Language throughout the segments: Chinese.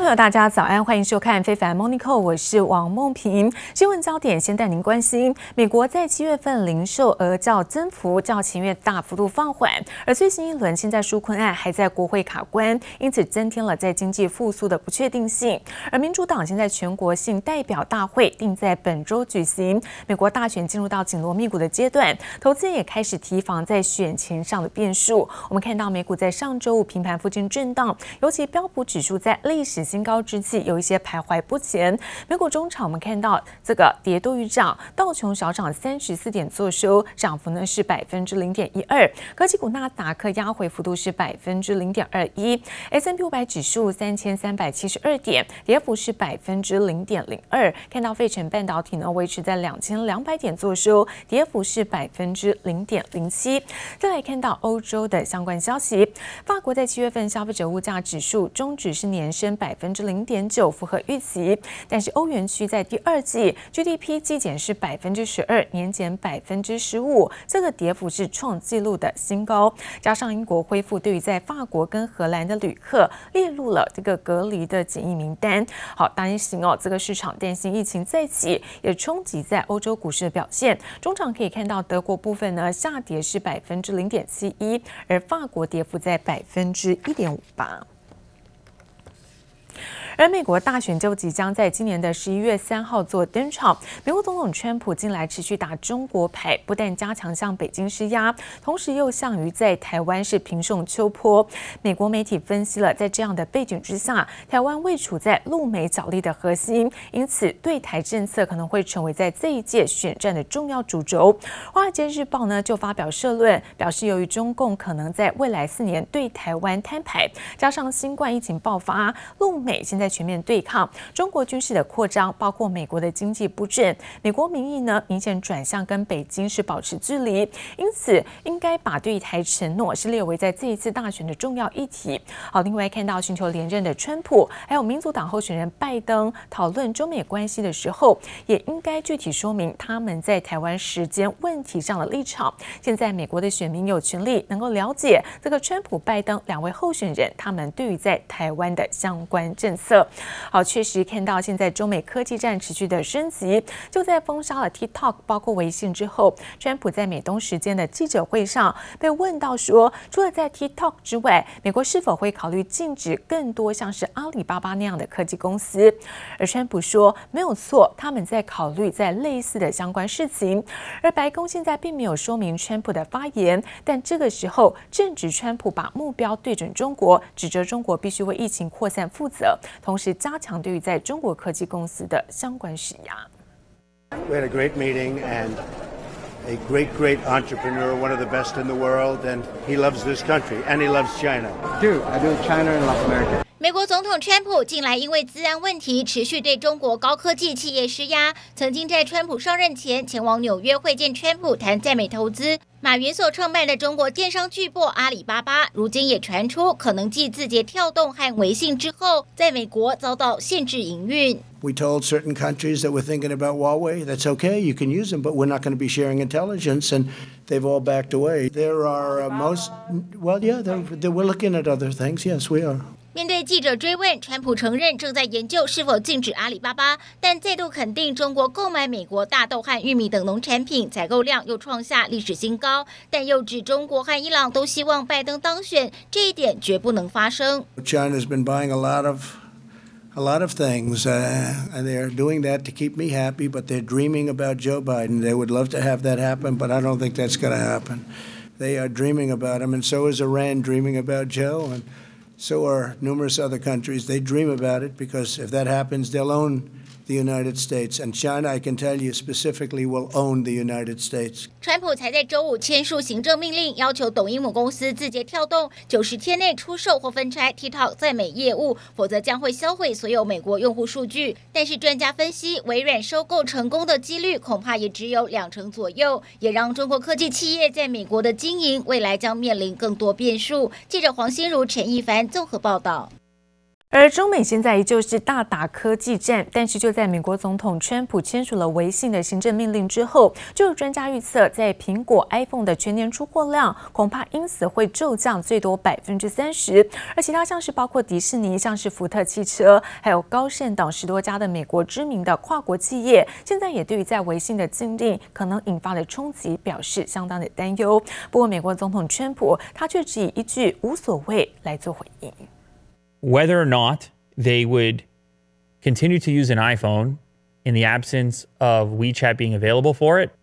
朋友，大家早安，歡迎收看《非凡 Morning Call》，我是王夢萍。新聞焦點先帶您關心，美國在7月份零售額較增幅較前月大幅度放緩，而最新一輪現在紓困案還在國會卡關，因此增添了在經濟復甦的不確定性。而民主黨現在全國性代表大會定在本周舉行，美國大選進入到緊鑼密鼓的階段，投資人也開始提防在選前上的變數。我們看到美股在上周五平盤附近震盪，尤其標普指數在歷史新高之際有一些徘徊不前。美股中場我們看到這個跌多於漲，道瓊小漲34點作收，漲幅呢是0.12%。科技股納斯達克壓回幅度是0.21%。S&P 500指數3372點，跌幅是0.02%。看到費城半導體呢維持在2200點作收，跌幅是0.07%。再來看到歐洲的相關消息，法國在7月份消費者物價指數終值是年升0.9%，符合預期。但是歐元區在第二季 GDP 季減是12%，年減15%，這個跌幅是創紀錄的新高。加上英國恢復對於在法國跟荷蘭的旅客列入了這個隔離的檢疫名單。好，擔心這個市場擔心疫情再起，也衝擊在歐洲股市的表現。中場可以看到德國部分呢下跌是0.71%，而法國跌幅在1.58%。而美國大選就即將在今年的11月3號做登場。美國總統川普近來持續打中國牌，不但加強向北京施壓，同時又向於在台灣是平送秋波。美國媒體分析了，在這樣的背景之下，台灣位處在陸美角力的核心，因此對台政策可能會成為在這一屆選戰的重要主軸。華爾街日報呢就發表社論，表示由於中共可能在未來4年對台灣攤牌，加上新冠疫情爆發，陸美現在全面對抗，中國軍事的擴張，包括美國的經濟不振，美國民意呢明顯轉向跟北京是保持距離，因此應該把對台承諾是列為在這一次大選的重要議題。好，另外看到尋求連任的川普，還有民主黨候選人拜登討論中美關係的時候，也應該具體說明他們在台灣時間問題上的立場。現在美國的選民有權利能夠了解這個川普、拜登兩位候選人他們對於在台灣的相關政策。好，確實看到現在中美科技戰持續的升級，就在封殺了 TikTok 包括微信之後，川普在美東時間的記者會上被問到說，除了在 TikTok 之外，美國是否會考慮禁止更多像是阿里巴巴那樣的科技公司？而川普說沒有錯，他們在考慮在類似的相關事情。而白宮現在並沒有說明川普的發言，但這個時候正值川普把目標對準中國，指責中國必須為疫情擴散負責，同時加強對於在中國科技公司的相關施壓。 We had a great meeting and a great entrepreneur, one of the best in the world, and he loves this country and he loves China. I do China and Latin America. 美國總統川普近來因為資安問題持續對中國高科技企業施壓，曾經在川普上任前前往紐約會見川普談在美投資。馬雲所創辦的中國電商巨擘阿里巴巴，如今也傳出可能繼字節跳動和微信之後，在美國遭到限制營運。 We told certain countries that we're thinking about Huawei, that's okay, you can use them, but we're not going to be sharing intelligence, and they've all backed away. There are we're looking at other things, yes, we are. 面對記者追問，川普承認正在研究是否禁止阿里巴巴，但再度肯定中國購買美國大豆和玉米等農產品採購量又創下歷史新高，但又指中國和伊朗都希望拜登當選，這一點絕不能發生。 China's been buying a lot of things, and they're doing that to keep me happy, but they're dreaming about Joe Biden. They would love to have that happen, but I don't think that's going to happen. They are dreaming about him, and so is Iran dreaming about Joe, and so are numerous other countries. They dream about it because if that happens, they'll own the United States, and China, I can tell you specifically, will own the United States. 川普才在周五簽署行政命令，要求抖音母公司字節跳動90天內出售或分拆 TikTok 在美業務，否則將會銷毀所有美國用戶數據。但是專家分析，微軟收購成功的幾率恐怕也只有2%左右，也讓中國科技企業在美國的經營未來將面臨更多變數。記者黃心如、陳一凡綜合報道。 而中美現在依舊是大打科技戰，但是就在美國總統川普簽署了微信的行政命令之後，就有專家預測，在蘋果 iPhone 的全年出貨量恐怕因此會驟降最多30%，而其他像是包括迪士尼、像是福特汽車，還有高盛等10多家的美國知名的跨國企業，現在也對於在微信的禁令可能引發的衝擊表示相當的擔憂。不過，美國總統川普他卻只以一句無所謂來做回應。 Whether or not they would continue to use an iPhone in the absence of WeChat being available for it,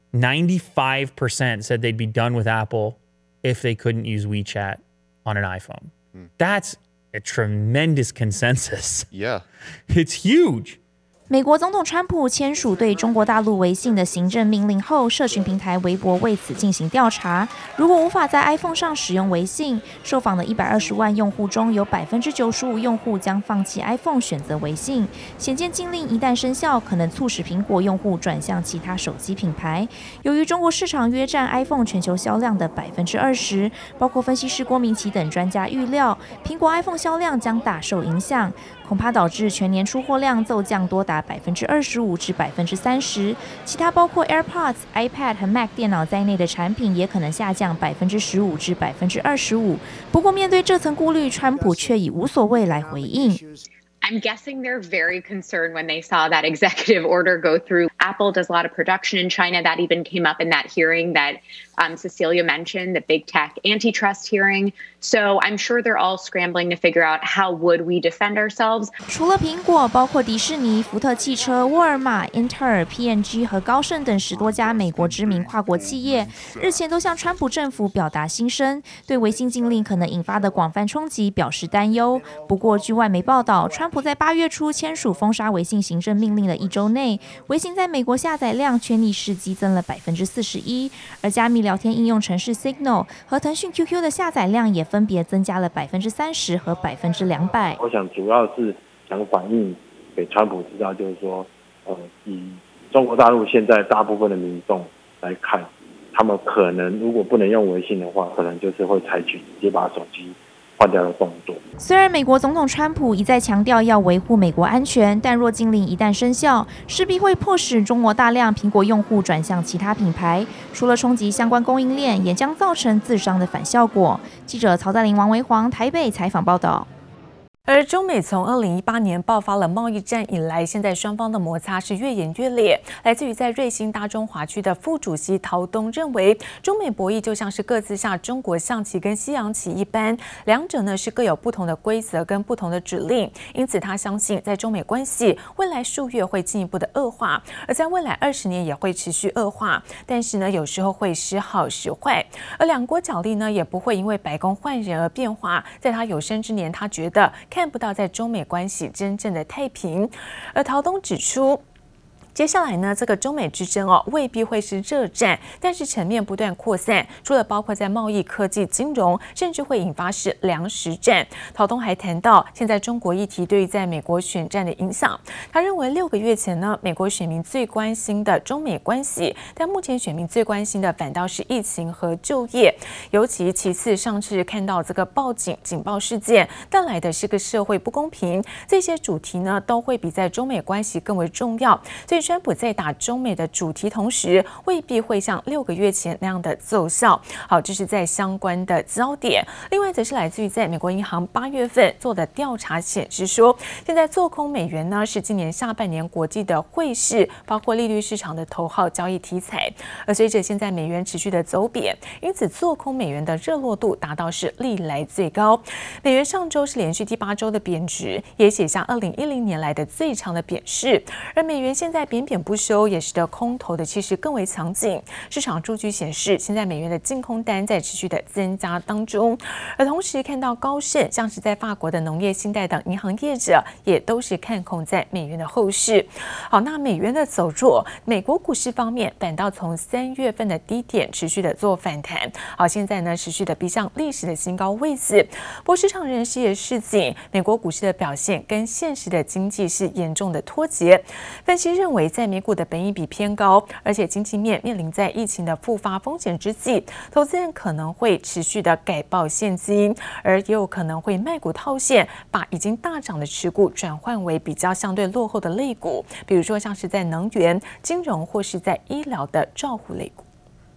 95% said they'd be done with Apple if they couldn't use WeChat on an iPhone. That's a tremendous consensus. Yeah. It's huge. 美國總統川普簽署對中國大陸微信的行政命令後，社群平台微博為此進行調查。如果無法在 iPhone 上使用微信，受訪的120萬用戶中有95%用戶將放棄 iPhone 選擇微信。顯見禁令一旦生效，可能促使蘋果用戶轉向其他手機品牌。由於中國市場約佔 iPhone 全球銷量的20%，包括分析師郭明錤等專家預料，蘋果 iPhone 銷量將大受影響，恐怕導致全年出貨量驟降多達25%至30%，其他包括 AirPods、iPad 和 Mac 電腦在內的產品也可能下降15%至25%。不過，面對這層顧慮，川普卻以無所謂來回應。 I'm guessing they're very concerned when they saw that executive order go through. Apple does a lot of production in China. That even came up in that hearing that Cecilia mentioned, the big tech antitrust hearing. So I'm sure they're all scrambling to figure out how would we defend ourselves. 除了蘋果，包括迪士尼、福特汽車、沃爾瑪、英特爾、P&G 和高盛等10多家美國知名跨國企業，日前都向川普政府表達心聲，對微信禁令可能引發的廣泛衝擊表示擔憂。不過，據外媒報道，川普在8月初簽署封殺微信行政命令的1週內，微信在美國下載量卻逆勢激增了41%，而加密聊天應用程式 Signal 和騰訊 QQ 的下載量也分別增加了30%和200%。 我想主要是想反映給川普知道，就是說，以中國大陸現在大部分的民眾來看，他們可能如果不能用微信的話，可能就是會採取直接把手機換掉的動作。 雖然美國總統川普一再強調要維護美國安全，但若禁令一旦生效，勢必會迫使中國大量蘋果用戶轉向其他品牌，除了衝擊相關供應鏈，也將造成自傷的反效果。記者曹在林、王維煌台北採訪報道。 而中美從2018年爆發了貿易戰以來，現在雙方的摩擦是越演越烈。來自於在瑞興大中華區的副主席陶東認為，中美博弈就像是各自下中國象棋跟西洋棋一般，兩者呢是各有不同的規則跟不同的指令，因此他相信在中美關係未來數月會進一步的惡化，而在未來20年也會持續惡化。但是呢，有時候會時好時壞，而兩國角力呢也不會因為白宮換人而變化。在他有生之年，他覺得看不到在中美關係真正的太平，而陶東指出，接下來呢，這個中美之爭未必會是熱戰，但是層面不斷擴散，除了包括在貿易、科技、金融，甚至會引發是糧食戰。陶東還談到，現在中國議題對於在美國選戰的影響。他認為6個月前呢，美國選民最關心的中美關係，但目前選民最關心的反倒是疫情和就業，尤其其次，上次看到這個報警警報事件帶來的是個社會不公平，這些主題呢都會比在中美關係更為重要。所以川普在打中美的主題同時，未必會像6個月前那樣的奏效。好，這是在相關的焦點。另外，則是來自於在美國銀行8月份做的調查顯示說，現在做空美元呢是今年下半年國際的匯市，包括利率市場的頭號交易題材。而隨着現在美元持續的走貶，因此做空美元的熱絡度達到是歷來最高。美元上周是連續第8周的貶值，也寫下2010年來的最長的貶勢。而美元現在貶不休，也使得空頭的氣勢更為強勁。市場數據顯示，現在美元的淨空單在持續的增加當中，而同時看到高盛，像是在法國的農業信貸等銀行業者，也都是看空在美元的後市。好，那美元的走弱，美國股市方面反倒從3月份的低點持續的做反彈。好，現在呢持續的逼向歷史的新高位置。不過市場人士也示警，美國股市的表現跟現實的經濟是嚴重的脫節。分析認為， 為在美股的本益比偏高，而且經濟面臨在疫情的復發風險之際，投資人可能會持續的改抱現金，而也有可能會賣股套現，把已經大漲的持股轉換為比較相對落後的類股，比如說像是在能源、金融或是在醫療的照護類股。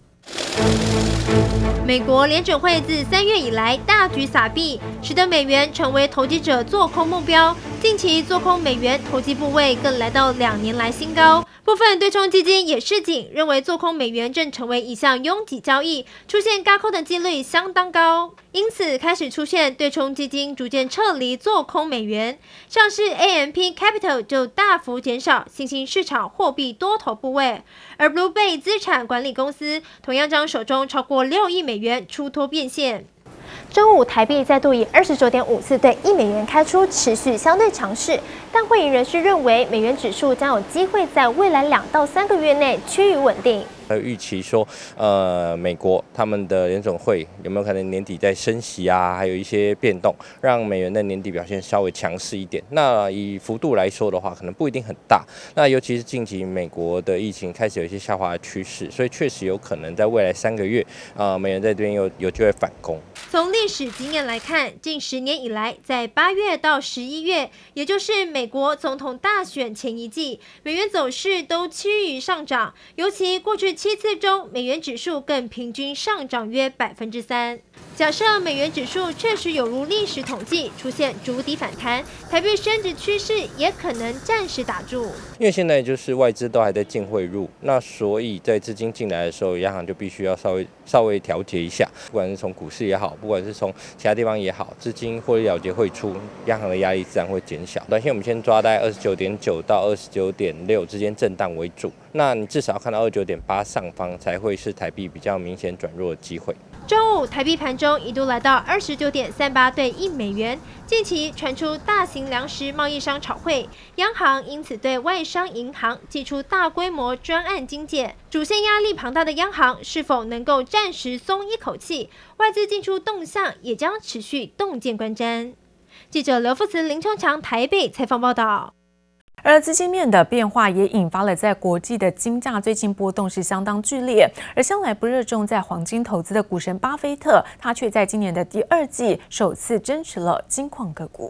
美國聯準會自3月以來大舉撒幣，使得美元成為投機者做空目標。近期做空美元投機部位更來到2年來新高。部分對沖基金也示警，認為做空美元正成為一項擁擠交易，出現軋空的幾率相當高，因此開始出現對沖基金逐漸撤離做空美元。像是 AMP Capital 就大幅減少新興市場貨幣多頭部位，而 Blue Bay 資產管理公司同樣將手中超過6億美元出脫變現。周五，台幣再度以29.54對1美元開出，持續相對強勢。但會議人士認為，美元指數將有機會在未來2到3個月內趨於穩定。 還有預期說，美國他們的聯準會有沒有可能年底再升息啊？還有一些變動，讓美元的年底表現稍微強勢一點。那以幅度來說的話，可能不一定很大。那尤其是近期美國的疫情開始有一些下滑的趨勢，所以確實有可能在未來3個月，美元在這邊有機會反攻。 從歷史經驗來看，近10年以來，在8月到11月，也就是美國總統大選前一季，美元走勢都趨於上漲，尤其過去7次中，美元指數更平均上漲約3%。假設美元指數確實有如歷史統計出現築底反彈，台幣升值趨勢也可能暫時打住。 因為現在就是外資都還在淨匯入，那所以在資金進來的時候，央行就必須要稍微調節一下，不管是從股市也好，不管是從其他地方也好，資金獲利了結匯出，央行的壓力自然會減小。短線我們先抓大概29.9到29.6之間震盪為主，那你至少要看到29.8上方才會是台幣比較明顯轉弱的機會。 周五，台幣盤中一度來到29.38對1美元。近期傳出大型糧食貿易商炒匯，央行因此對外商銀行祭出大規模專案精簡。主線壓力龐大的央行是否能夠暫時鬆一口氣？外資進出動向也將持續洞見觀瞻。記者劉富慈、林秋強台北採訪報道。 而資金面的變化也引發了在國際的金價最近波動是相當劇烈，而向來不熱衷在黄金投資的股神巴菲特，他卻在今年的第2季首次增持了金礦個股。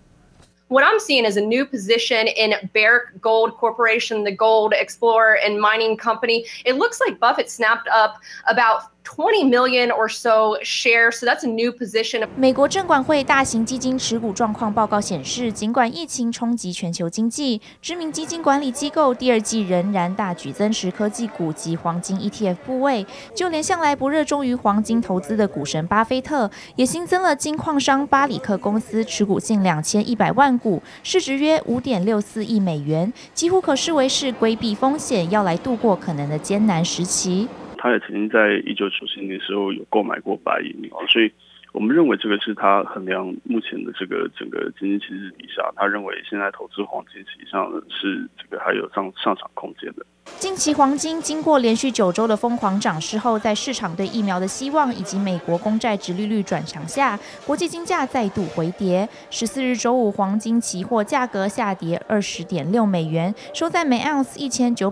What I'm seeing is a new position in Barrick Gold Corporation, the gold explorer and mining company. It looks like Buffett snapped up about 20 million or so shares, so that's a new position. 美國證管會大型基金持股狀況報告顯示，儘管疫情衝擊全球經濟，知名基金管理機構第2季仍然大舉增持科技股及黃金 ETF 部位。就連向來不熱衷於黃金投資的股神巴菲特，也新增了金礦商巴里克公司持股近2100萬股，市值約5.64億美元，幾乎可視為是規避風險，要來度過可能的艱難時期。 他也曾經在1997年的時候有購買過白銀，所以我們認為這個是他衡量目前的這個整個經濟形勢底下，他認為現在投資黃金實際上是這個還有上漲空間的。 近期黃金經過連續9週的瘋狂漲勢後，在市場對疫苗的希望以及美國公債殖利率轉強下，國際金價再度回跌。14日周五，黃金期貨價格下跌20.6美元，收在每盎司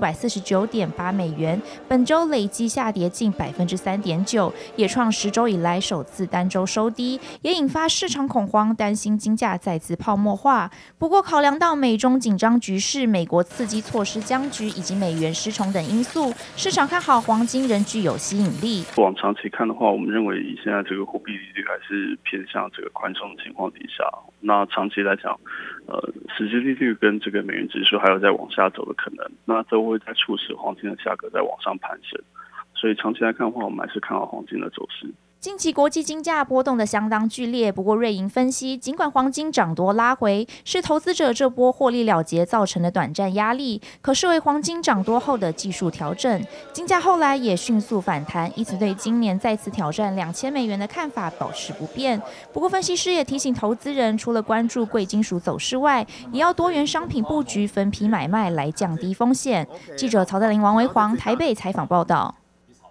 1949.8美元。本周累計下跌近3.9%，也創10週以來首次單周收低，也引發市場恐慌，擔心金價再次泡沫化。不過，考量到美中緊張局勢、美國刺激措施僵局以及美元失重等因素，市場看好黃金仍具有吸引力。 往長期看的話，我們認為以現在這個貨幣利率還是偏向這個寬鬆的情況底下，那長期來講，實際利率跟這個美元指數還有再往下走的可能，那都會再促使黃金的價格再往上攀升。所以長期來看的話，我們還是看好黃金的走勢。 近期國際金價波動得相當劇烈，不過瑞銀分析，儘管黃金漲多拉回，是投資者這波獲利了結造成的短暫壓力，可視為黃金漲多後的技術調整。金價後來也迅速反彈，因此對今年再次挑戰2000美元的看法保持不變。不過分析師也提醒投資人，除了關注貴金屬走勢外，也要多元商品布局，分批買賣來降低風險。記者曹在林、王維煌台北採訪報道。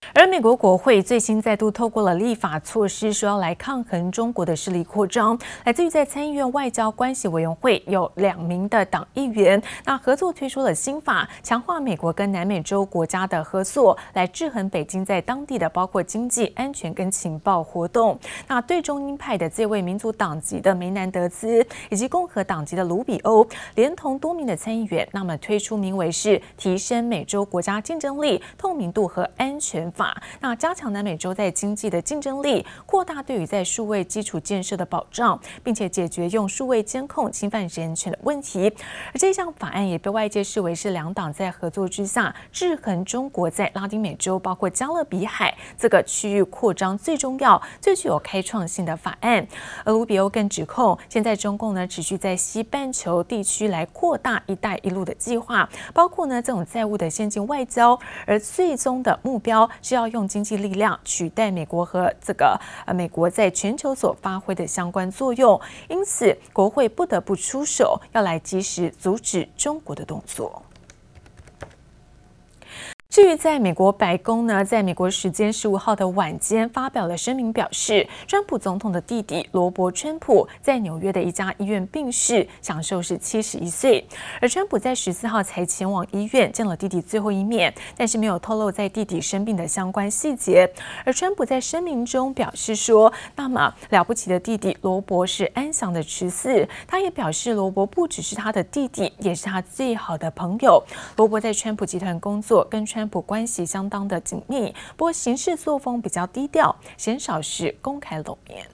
而美國國會最新再度透過了立法措施，說要來抗衡中國的勢力擴張。來自於在參議院外交關係委員會有2名的黨議員，那合作推出了新法，強化美國跟南美洲國家的合作，來制衡北京在當地的包括經濟、安全跟情報活動。那對中鷹派的這位民主黨籍的梅南德茲，以及共和黨籍的盧比歐，連同多名的參議員，那麼推出名為是提升美洲國家競爭力、透明度和安全法。那加強南美洲在經濟的競爭力，擴大對於在數位基礎建設的保障，並且解決用數位監控侵犯人權的問題。而這項法案也被外界視為是兩黨在合作之下制衡中國在拉丁美洲，包括加勒比海這個區域擴張最重要、最具有開創性的法案。而盧比歐更指控，現在中共呢持續在西半球地區來擴大“一帶一路”的計劃，包括呢這種債務的現金外交，而最終的目標是要用經濟力量取代美國和美國在全球所發揮的相關作用，因此國會不得不出手，要來及時阻止中國的動作。至於在美國白宮呢，在美國時間15號的晚間發表了聲明，表示川普總統的弟弟羅伯·川普在紐約的一家醫院病逝，享壽是71歲。而川普在14號才前往醫院見了弟弟最後一面，但是沒有透露在弟弟生病的相關細節。而川普在聲明中表示說，那麼了不起的弟弟羅伯是安詳的辭世。他也表示，羅伯不只是他的弟弟，也是他最好的朋友。羅伯在川普集團工作，跟川普關係相當的緊密，不過行事作風比較低調，鮮少是公開露面。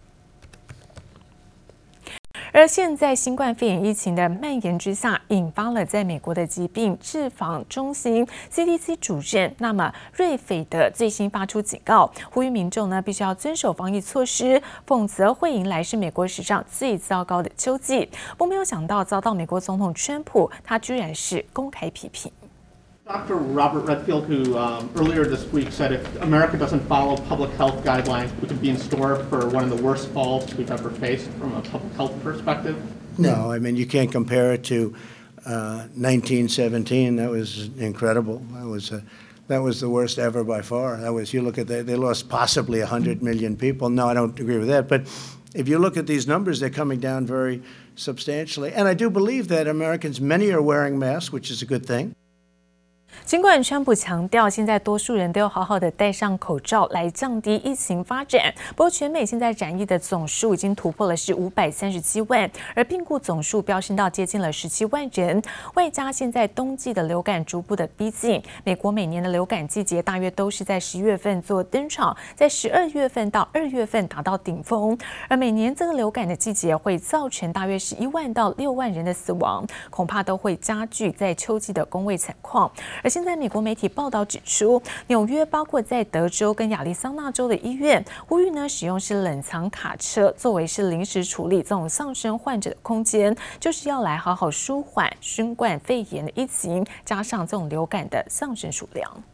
而現在新冠肺炎疫情的蔓延之下，引發了在美國的疾病預防中心 CDC 主任那麼瑞斐的最新發出警告，呼籲民眾呢必須要遵守防疫措施，否則會迎來是美國史上最糟糕的秋季。不過沒有想到遭到美國總統川普，他居然是公開批評。 Dr. Robert Redfield, who earlier this week said if America doesn't follow public health guidelines, we could be in store for one of the worst falls we've ever faced from a public health perspective. No, I mean, you can't compare it to 1917. That was incredible. That was the worst ever by far. That was, you look at that, they lost possibly 100 million people. No, I don't agree with that. But if you look at these numbers, they're coming down very substantially. And I do believe that Americans, many are wearing masks, which is a good thing. 儘管川普強調，現在多數人都要好好的戴上口罩來降低疫情發展。不過，全美現在染疫的總數已經突破了是537萬，而病故總數飆升到接近了17萬人。外加現在冬季的流感逐步的逼近，美國每年的流感季節大約都是在10月份做登場，在12月份到2月份達到頂峰。而每年這個流感的季節會造成大約是1萬到6萬人的死亡，恐怕都會加劇在秋季的公衛慘況。而現在美國媒體報道指出，紐約包括在德州跟亞利桑那州的醫院，呼籲呢使用是冷藏卡車作為是臨時處理這種喪生患者的空間，就是要來好好舒緩新冠肺炎的疫情，加上這種流感的喪生數量。